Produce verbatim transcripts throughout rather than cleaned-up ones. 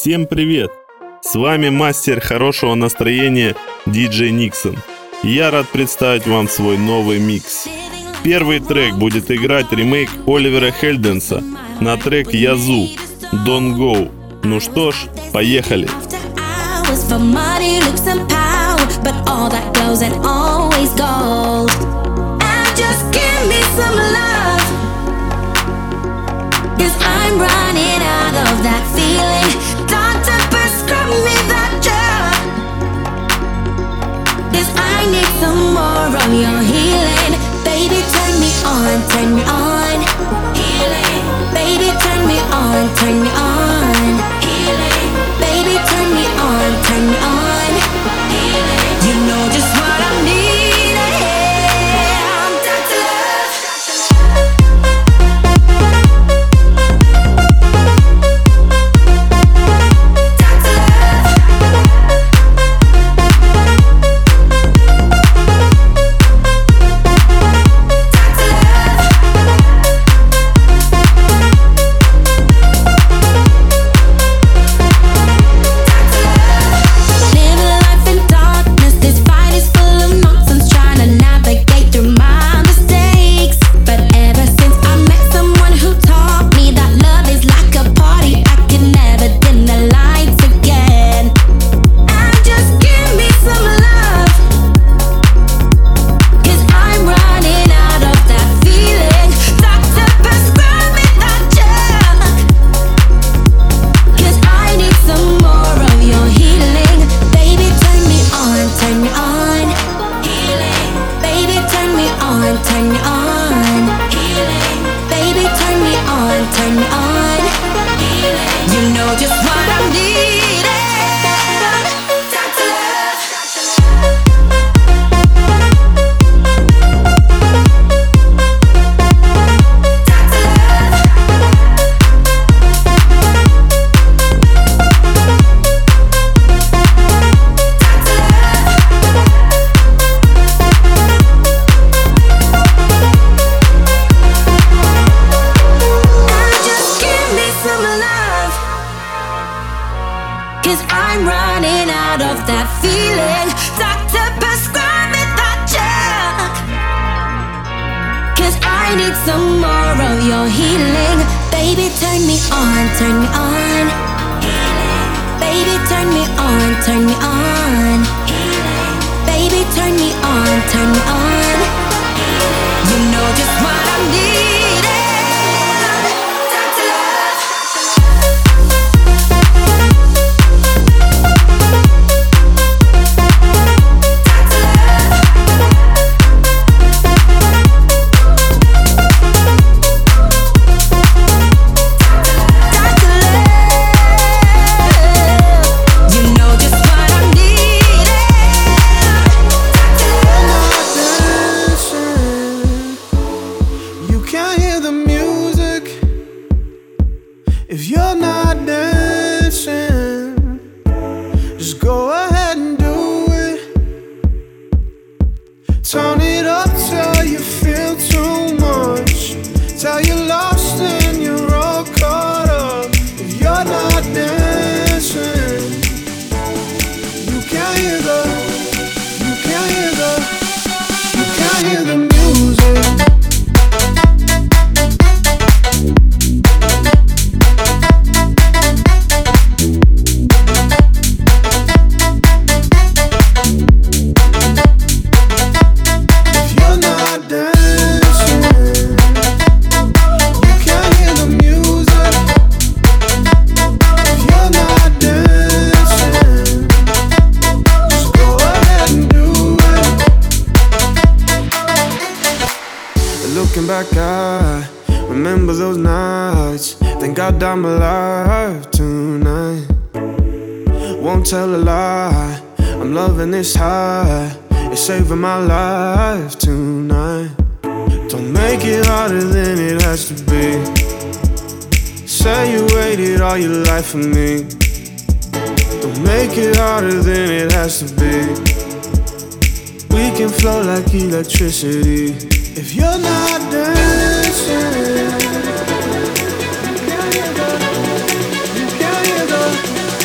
Всем привет! С вами мастер хорошего настроения диджей Никсон. Я рад представить вам свой новый микс. Первый трек будет играть ремейк Оливера Хельденса на трек Yazoo Don't Go. Ну что ж, поехали! I'm running out of that feeling. Doctor, prescribe me that drug. 'Cause I need some more of your healing. Baby, turn me on, turn me on. Healing. Baby, turn me on, turn me on. Healing. Baby, turn me on, turn me on. Healing. You know just what I need. I'm alive tonight. Won't tell a lie. I'm loving this high. It's saving my life tonight. Don't make it harder than it has to be. Say you waited all your life for me. Don't make it harder than it has to be. We can flow like electricity. If you're not dancing, you can't hear the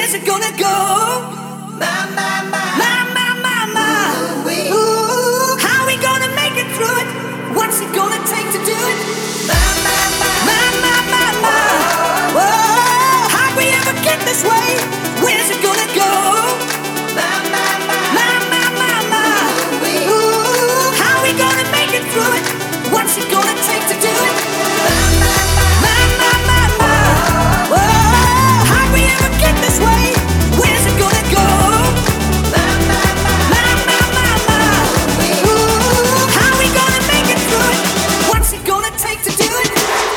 Where's it gonna go? My, my, my, my, my, my, my. Ooh, how we gonna make it through it? What's it gonna take to do it? My, my, my, my, my, my, my. Whoa, how'd we ever get this way? Where's it gonna go? My, my, my, my, my, my, my. Ooh, how we gonna make it through it? What's it gonna take to do it? My, my, my, my, my, my. Whoa, how'd we ever get this way? Where's it gonna go? My, my, my, my, my, my. Ooh, how we gonna make it through it? What's it gonna take to do it?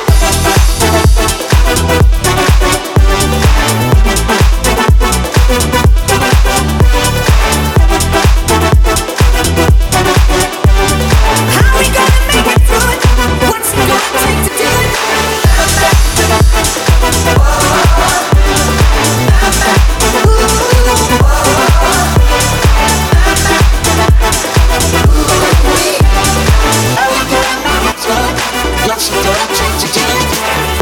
How we gonna make it through it? What's it gonna take to do it? What's it gonna take to do it?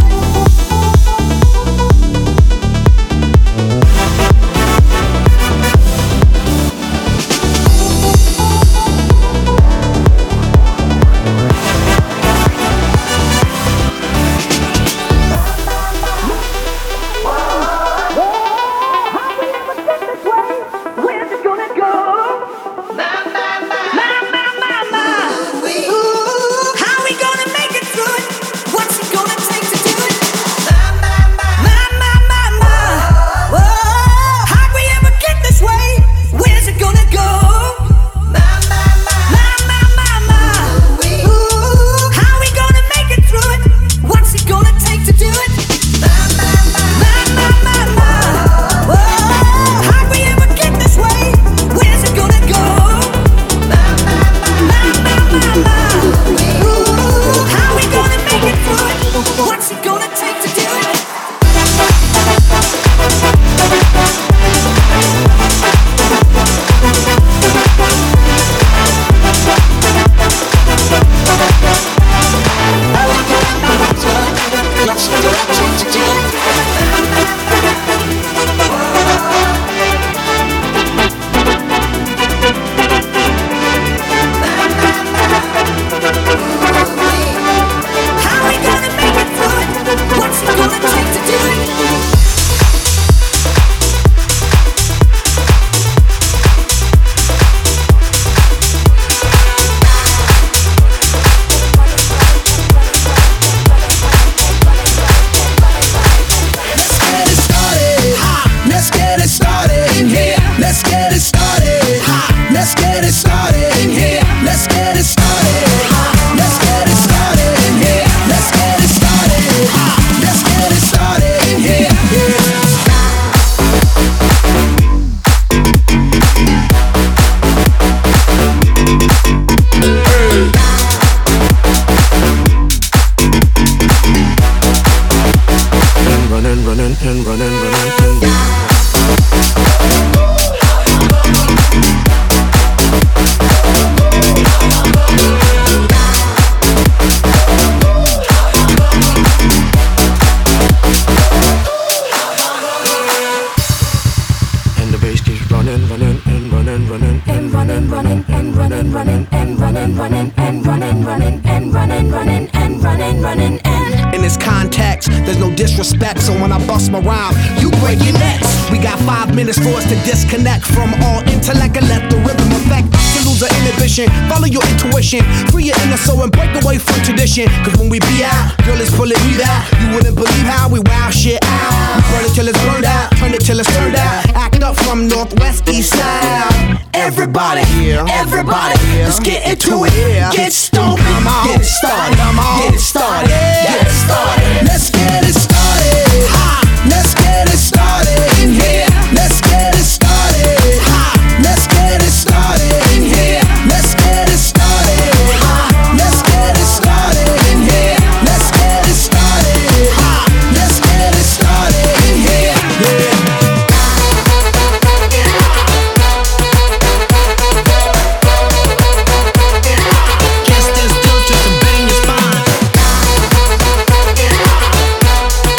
Where's it gonna go? My, my, my, my, my, my, my. Ooh, how we gonna make it through it? What's it gonna take to do it? My, my, my, my, my, my. Whoa, how'd we ever get this way? Where's it gonna go? My, my, my, my, my, my. Ooh, how we gonna make it through it? What's it gonna take to do it? My, my, my, my, my, my. Whoa, how'd we ever get this way? Where's it gonna go? My, my, my, my, my, my. Ooh, how we gonna make it through it? What's it gonna take to do it? What's it gonna take to do it? How we gonna make it through it? What's it gonna take to do it? Let's get it started in here. Let's get it started. Let's get it started in here. Let's get it started. Let's get it started in here. Let's get it started. Let's get it started in here. And running, running, and running, running, and And the bass keeps running, running, and running, running, and running, running, and running, running, and running, running, and running, running, and running, running, and running, running, and In this context, there's no disrespect, so when I bust my rhyme, you break your necks. We got five minutes for us to disconnect from all intellect and let the rhythm affect us to lose our inhibition. Follow your intuition, free your inner soul and break away from tradition. Cause when we be out, girl, it's pulling me out. You wouldn't believe how we wow shit out. We burn it till it's burned out, turn it till it's turned out. Act up from northwest, east side. Everybody, everybody, let's get into it. Get stoned, get it started, get it started, get it started. Let's get it started. Let's get it started in here. Let's get it started. Let's get it started in here. Let's get it started. Let's get it started in here. Let's get it started. Let's get it started in here. Yeah. Just as good, just to bang your spine.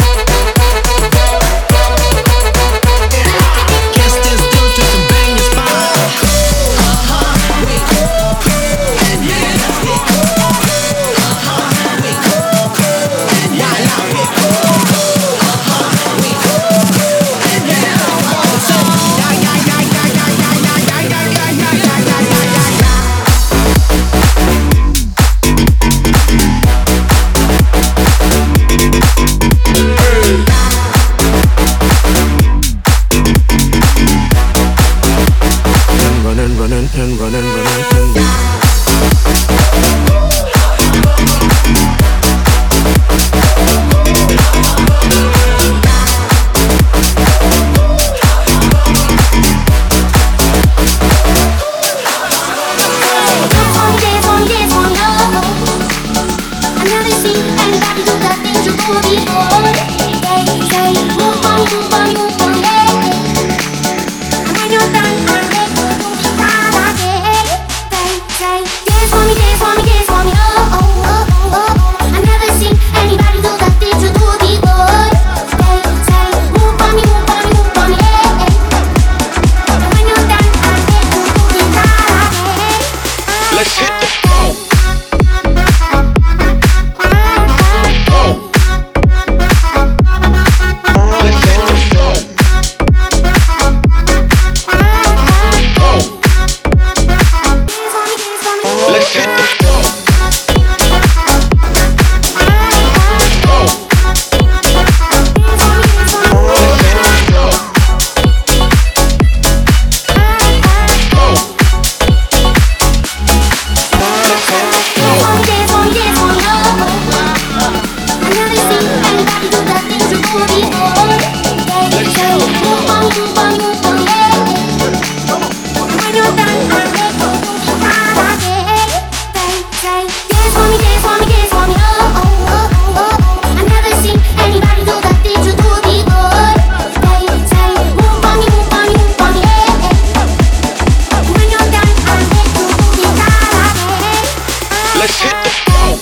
say, move on, move on, move on, yeah. When you're done, I let go, move on, yeah. Say, say, dance for me, dance for me, dance for me, oh, oh, oh, oh, oh. I never seen anybody do the things you do before. Say, say, move on, move on, move on, yeah. When you're done, I let go, move on, yeah. Let's hit the floor.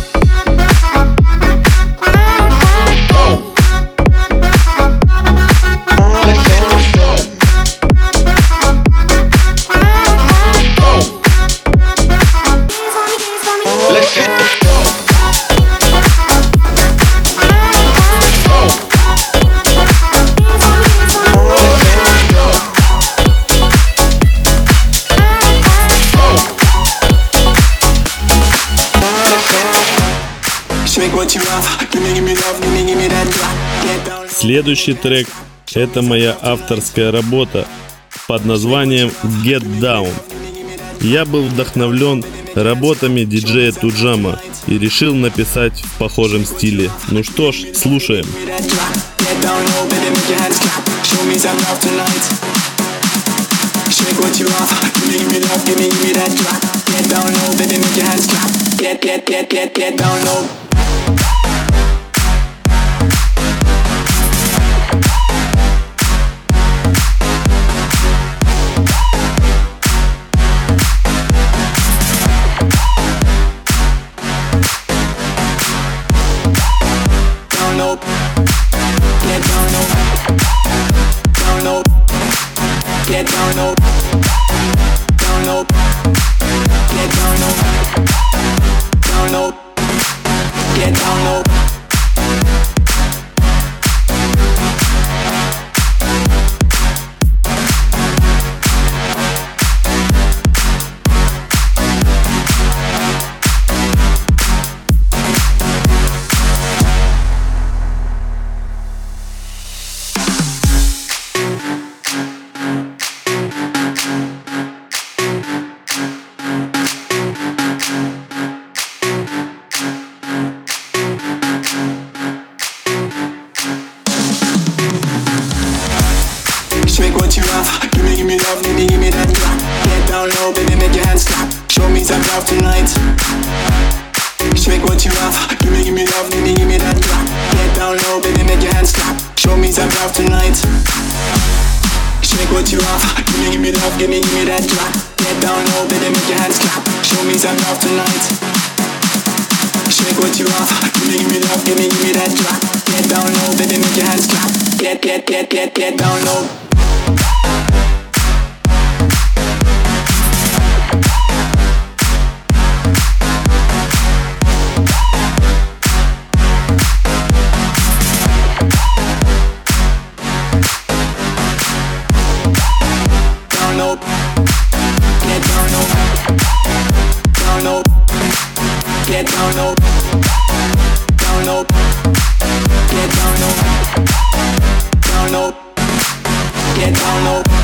Следующий трек – это моя авторская работа под названием Get Down. Я был вдохновлен работами диджея Туджама и решил написать в похожем стиле. Ну что ж, слушаем. Get down low, down low, get down low, down low, get down low. Shake what you have, give me, give me love, give me, give me that drop. Get down low, baby, make your hands clap. Show me some love tonight. Shake what you have, give me, give me love, give me, give me that drop. Get down low, baby, make your hands clap. Show me some love tonight. Shake what you have, give me, give me love, give me, give me that drop. Get down low, baby, make your hands clap. Show me some love tonight. Shake what you have, give me, give me love, give me, give me that drop. Get down low, baby, make your hands clap. Get, get, get, get, get down low. Down low, get down low, down low, get down low, down low, get down low, down low, get down low.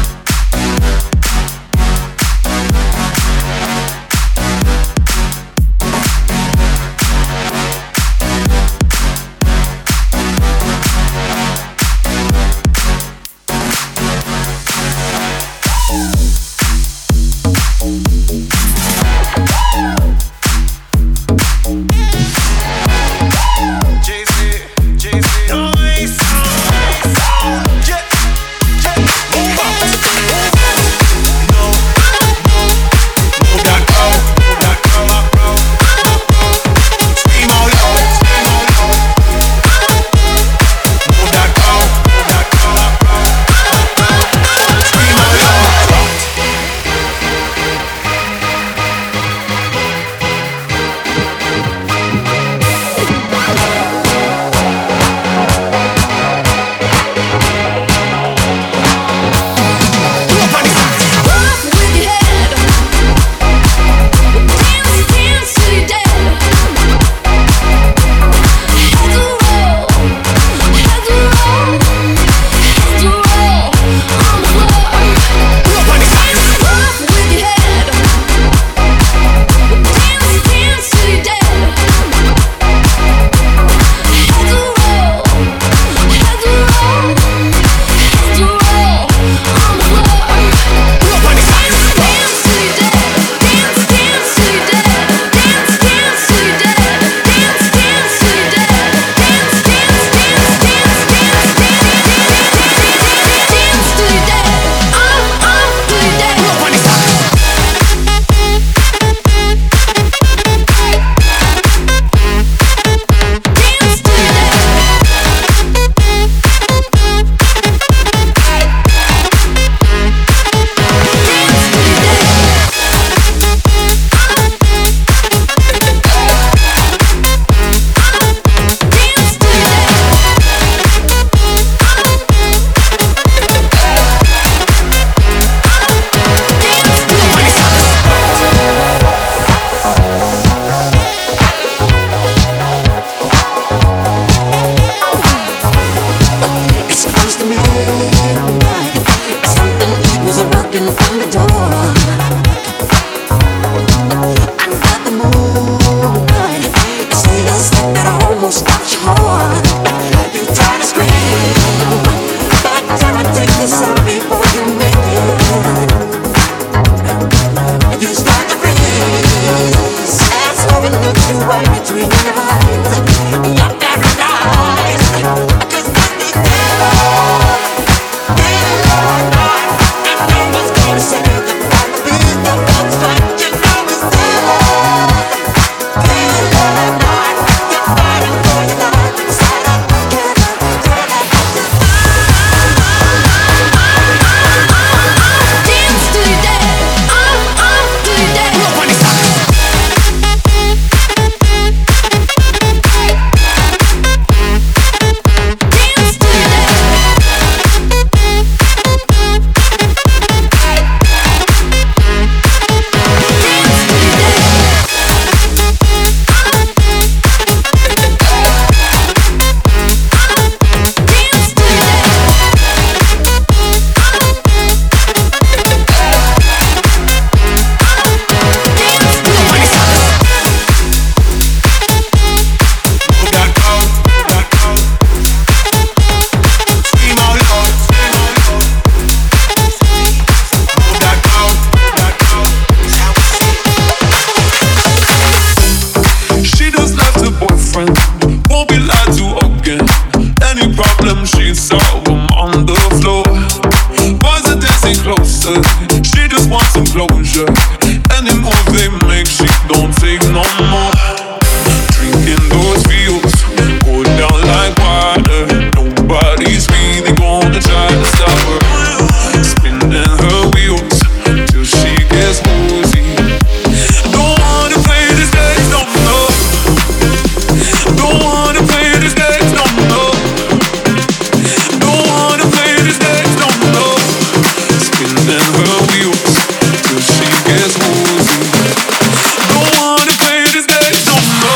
answers. She just wants some closure. Any move they make, she don't take no more. Drinking those feels go down like water. Nobody's really gonna try to stop her. Spinning her wheels till she gets woozy. Don't wanna play this game, no, no. Don't wanna play this game, no, no. Don't wanna play this game, no, no. Spinning her wheels till she gets woozy. Don't wanna play this game, no, no.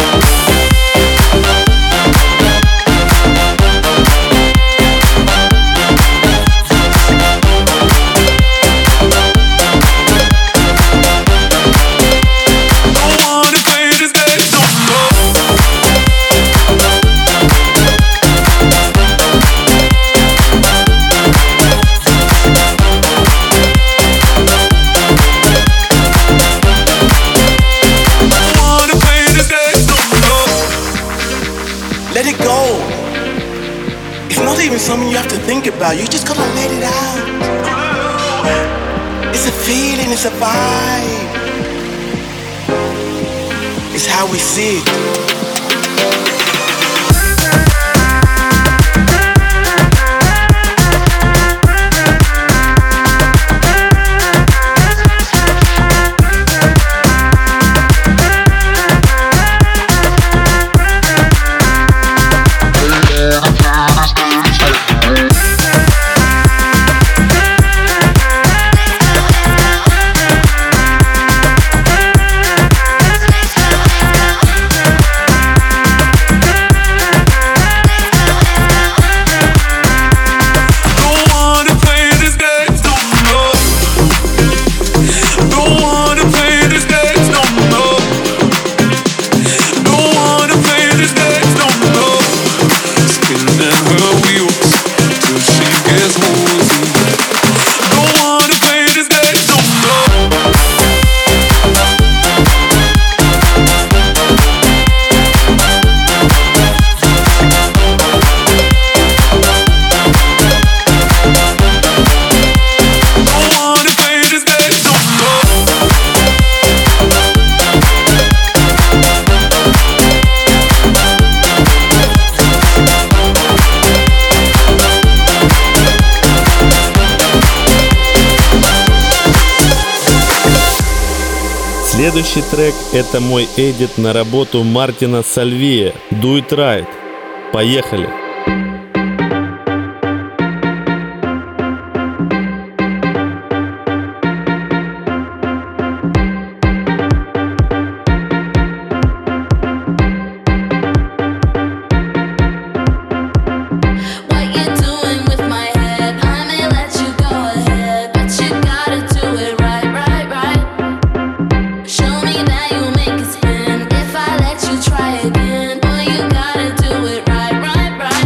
Let it go. It's not even something you have to think about. You just gotta let it out. It's a feeling, it's a vibe. It's how we see it. Следующий трек — это мой эдит на работу Мартина Сальвия «Do It Right». Поехали! Try again, boy, you gotta do it right, right, right.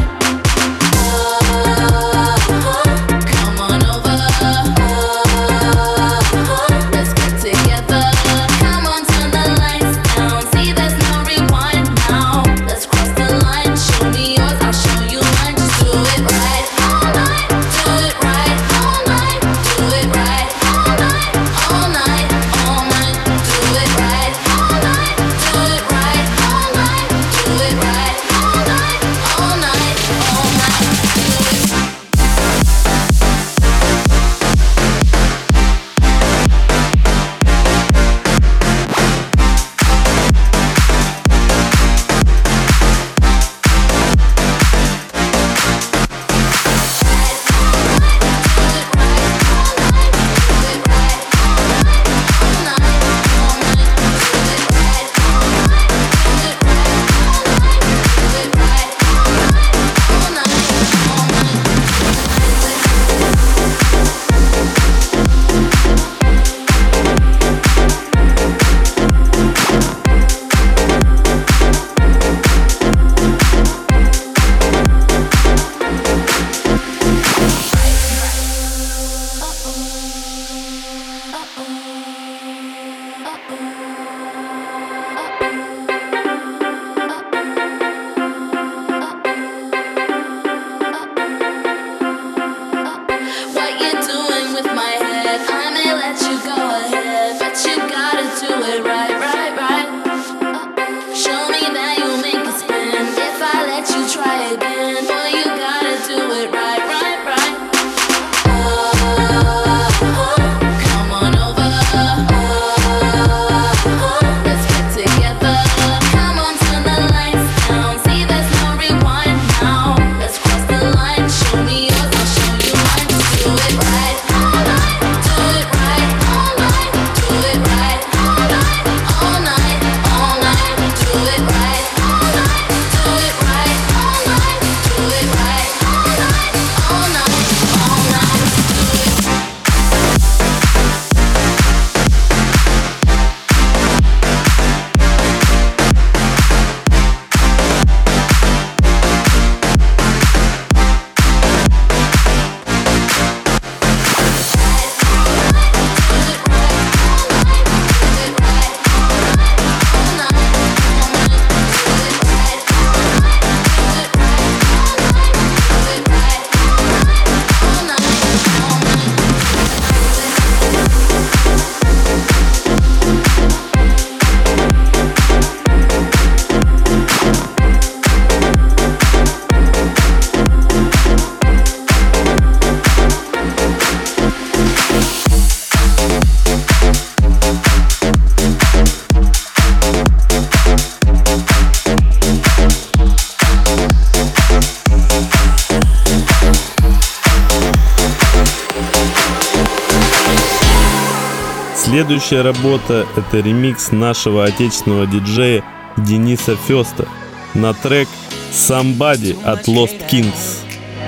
Следующая работа — это ремикс нашего отечественного диджея Дениса Фёста на трек Somebody от Lost Kings.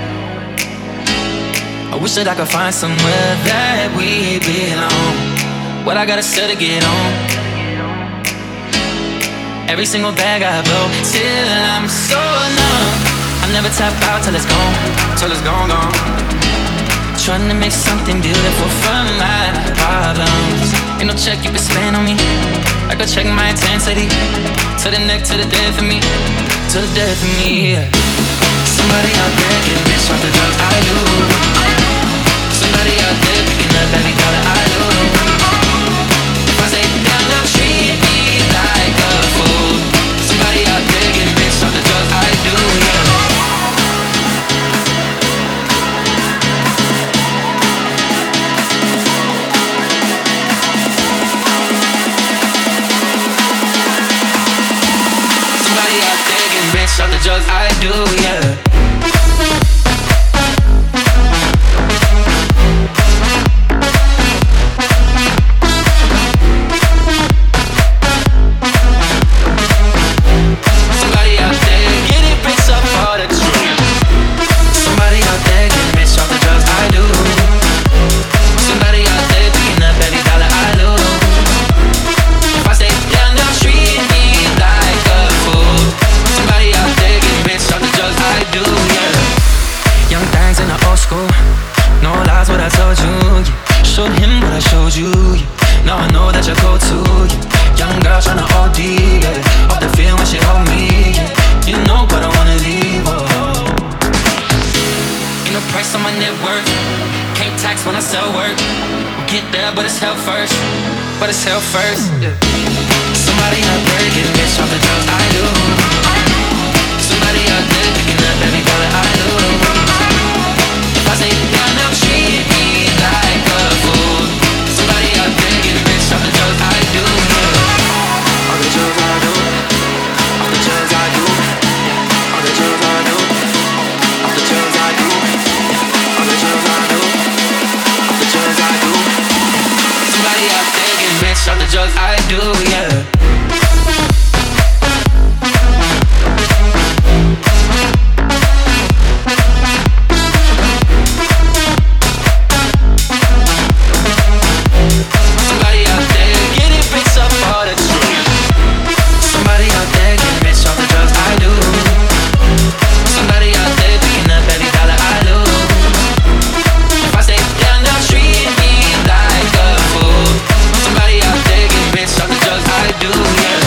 I wish that I could find somewhere that we belong. What I gotta say to get on. Every single bag I blow, till I'm so numb. I never tap out till it's gone, till it's gone, gone. Trying to make something beautiful from my problems. Ain't no check you can spend on me. I go check my intensity. To the neck, to the death of me. To the death of me, yeah. Somebody out there getting rich off the drugs I do. Somebody out there picking up every dollar I do. If I say down, they'll treat me like a fool. Somebody out there getting rich off the drugs I do, yeah. Somebody out there getting rich off the drugs I do, yeah. But it's hell first, yeah. Somebody out there getting rich off the drugs I do. Somebody out there picking up every dollar I do. If I say down, they'll treat me like a fool. Somebody out there getting rich off the drugs I do, yeah. All the drugs I do. All the drugs I do. All the drugs I do. All the drugs I do. All the drugs I do. All the drugs I do. Somebody out there getting rich off the drugs I do, yeah. Somebody out there getting rich off all the drugs. Somebody out there getting rich off the drugs I do. Somebody out there picking up every dollar I lose. If I stay down, they'll treat me like a fool. Somebody out there getting rich off the drugs I do, yeah.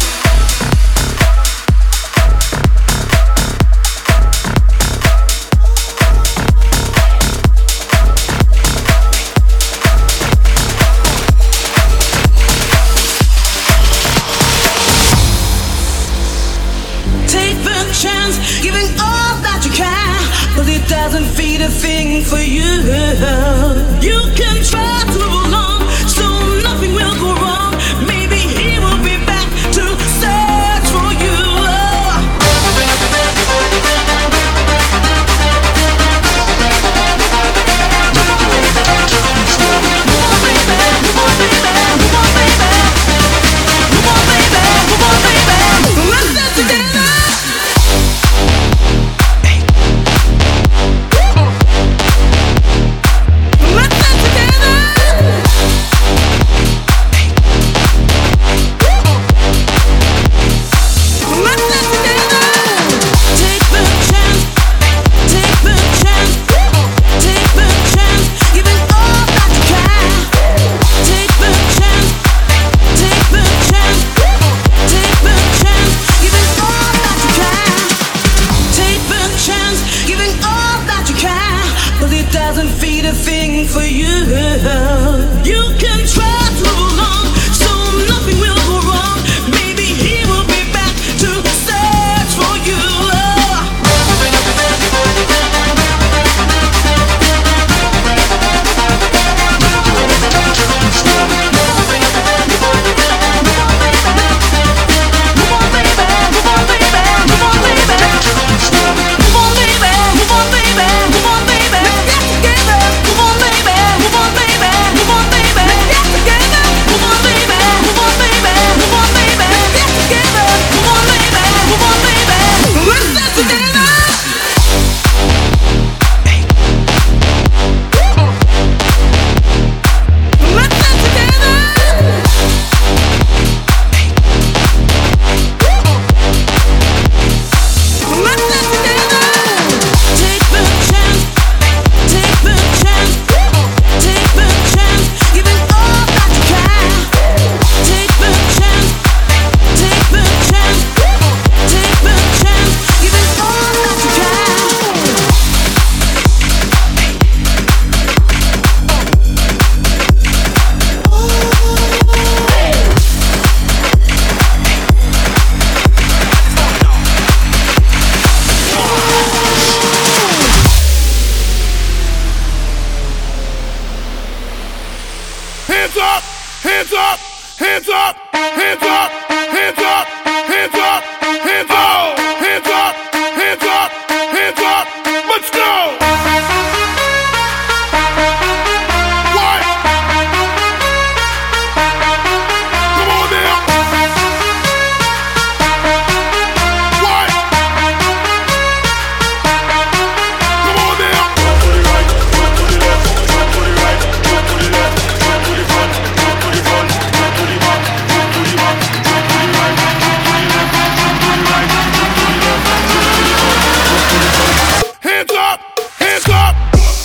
Take the chance, giving all that you can, but it doesn't feed a thing for you. You can try to move along, so nothing will go wrong. Maybe he will be back to search for you. Let's dance together. Let's dance Let's hands up, hands up, hands up, hands up, hands up, hands up, hands up, hands up, hands up, hands up, let's go! What? Come on now! What? Come on now! One to the right, one to the left, one to the right, one to the left, one to the front, one to the front, one to the back, one to the back, one to the right, one to the left, one to the right, one to the left, one to the front. Hands up! Hands up!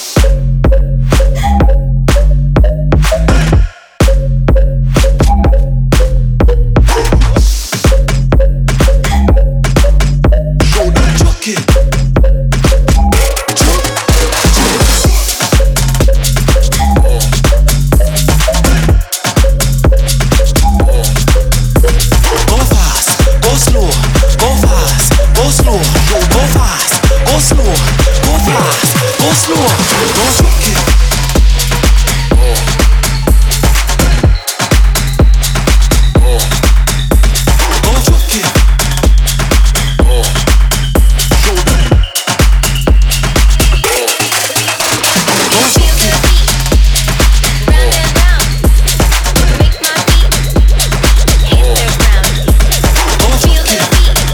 Shoulder chuck it. Go fast, go slow, go fast, go slow, go fast, go slow, go fast, go slow, go chuck it. Go chuck it. Shoulder. Go chuck it. Go chuck it.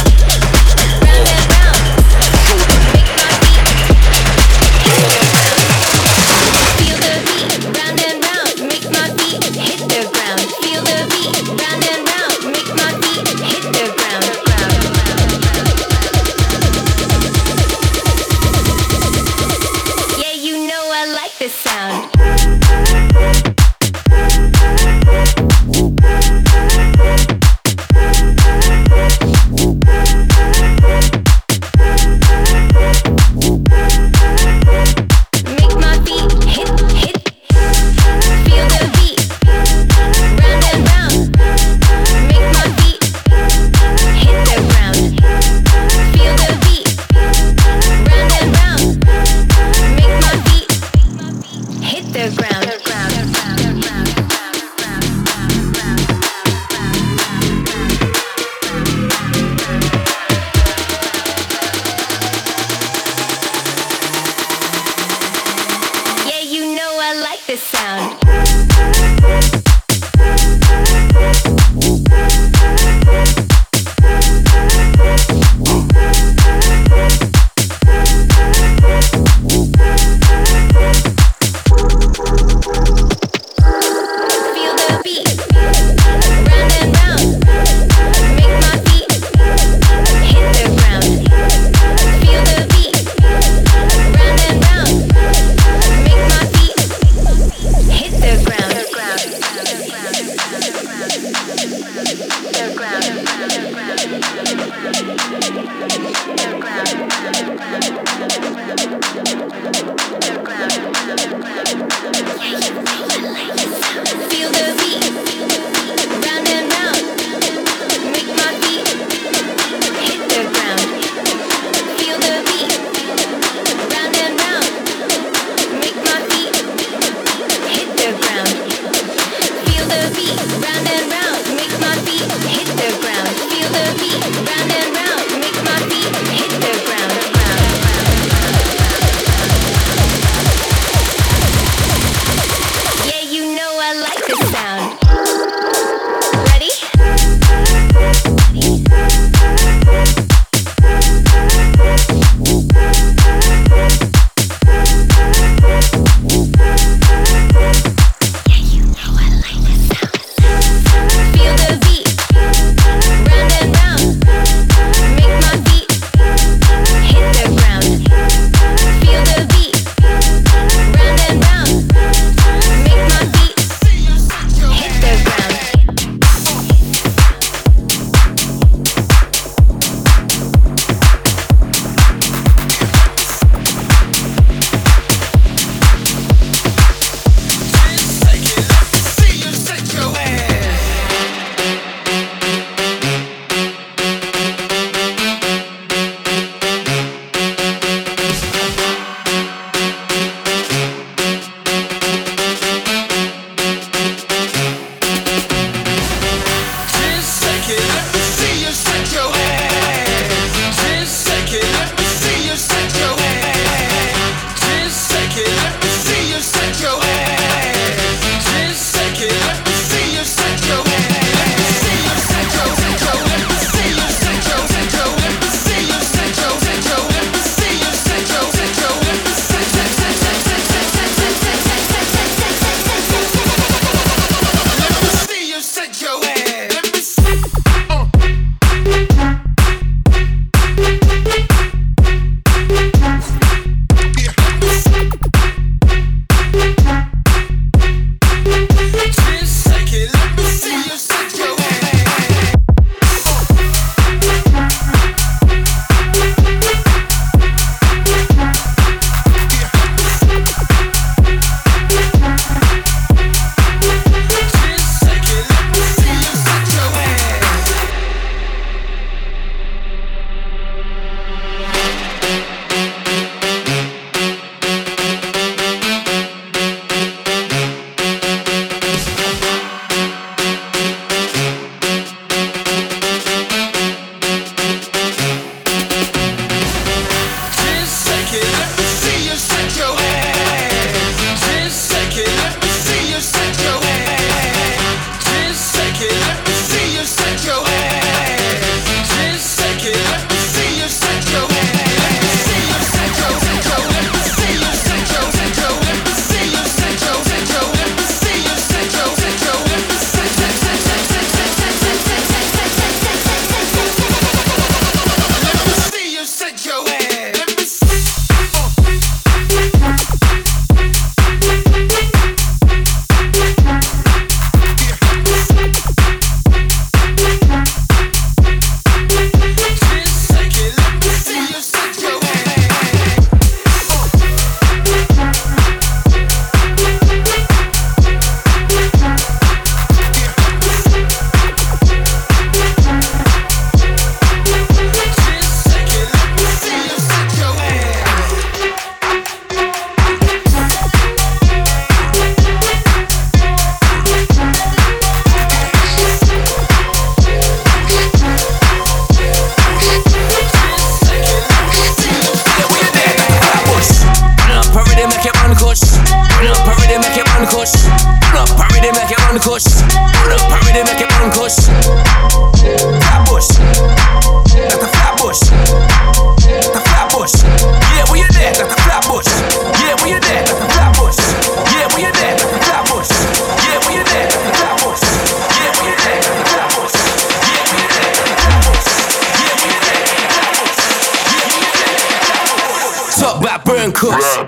Yeah, you know I like this sound. Make my feet hit, hit. Feel the beat, round and round. Make my feet hit the ground. Feel the beat, round and round. Make my feet hit the ground. Yeah, you know I like this sound. Feel the beat, round and round. Make my feet hit the ground. Feel the beat, round and round. Make my feet hit the ground. The ground. The ground. Feel the beat, round and round. Make my feet hit the ground. Feel the beat, round and round. Make my feet hit the ground. Feel the beat, round and round. Make my feet hit the ground. Feel the beat, round and round. Make my feet hit the ground. kush. Run up already, make it run kush. Run up already, make it run kush. Run up already, make it run kush. Flatbush, that's the Flatbush. The Flatbush, yeah, we in there. That's the Flatbush, yeah, we in there. That's the Flatbush, yeah, we in there. That's the Flatbush, yeah, we in there. That's the Flatbush, yeah, we in there. That's the Flatbush, yeah, we in there. That's the Flatbush, yeah, we in there. That's the Flatbush, yeah, we in there. Talk about burn kush.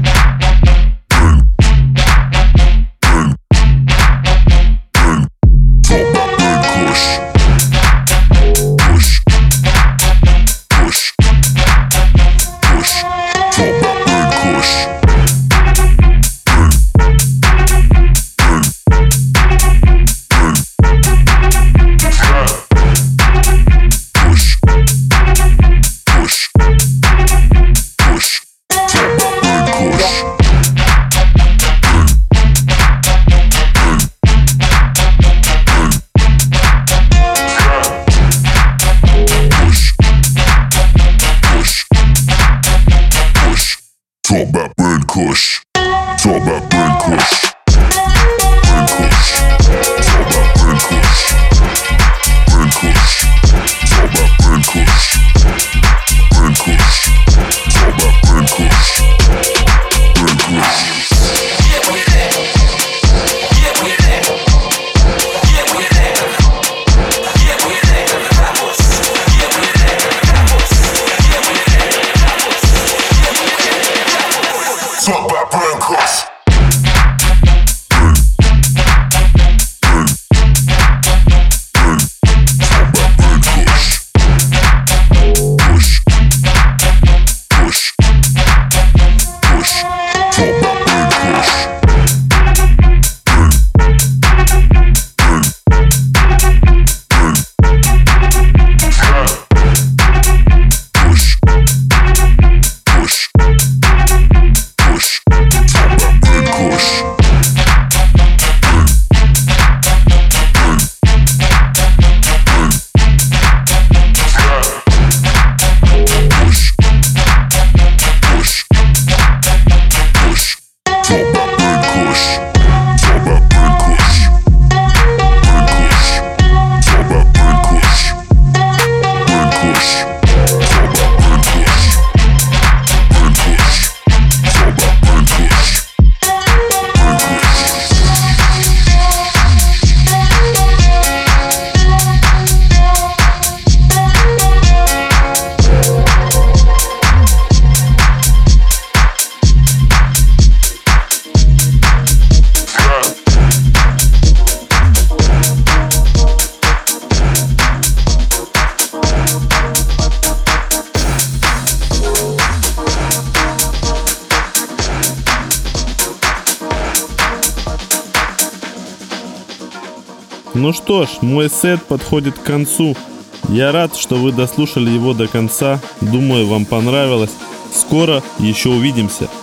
Talk about burn kush. Talk about burn kush. Burn kush. Talk about burn kush. Burn kush. Talk about burn kush. Burn kush. Talk about burn kush. Burn kush. Yeah, we there. Yeah, we there. Yeah, we there. Yeah, we there. Yeah, we there. Yeah, we there. Talk about burn kush. Ну что ж, мой сет подходит к концу. Я рад, что вы дослушали его до конца. Думаю, вам понравилось. Скоро еще увидимся.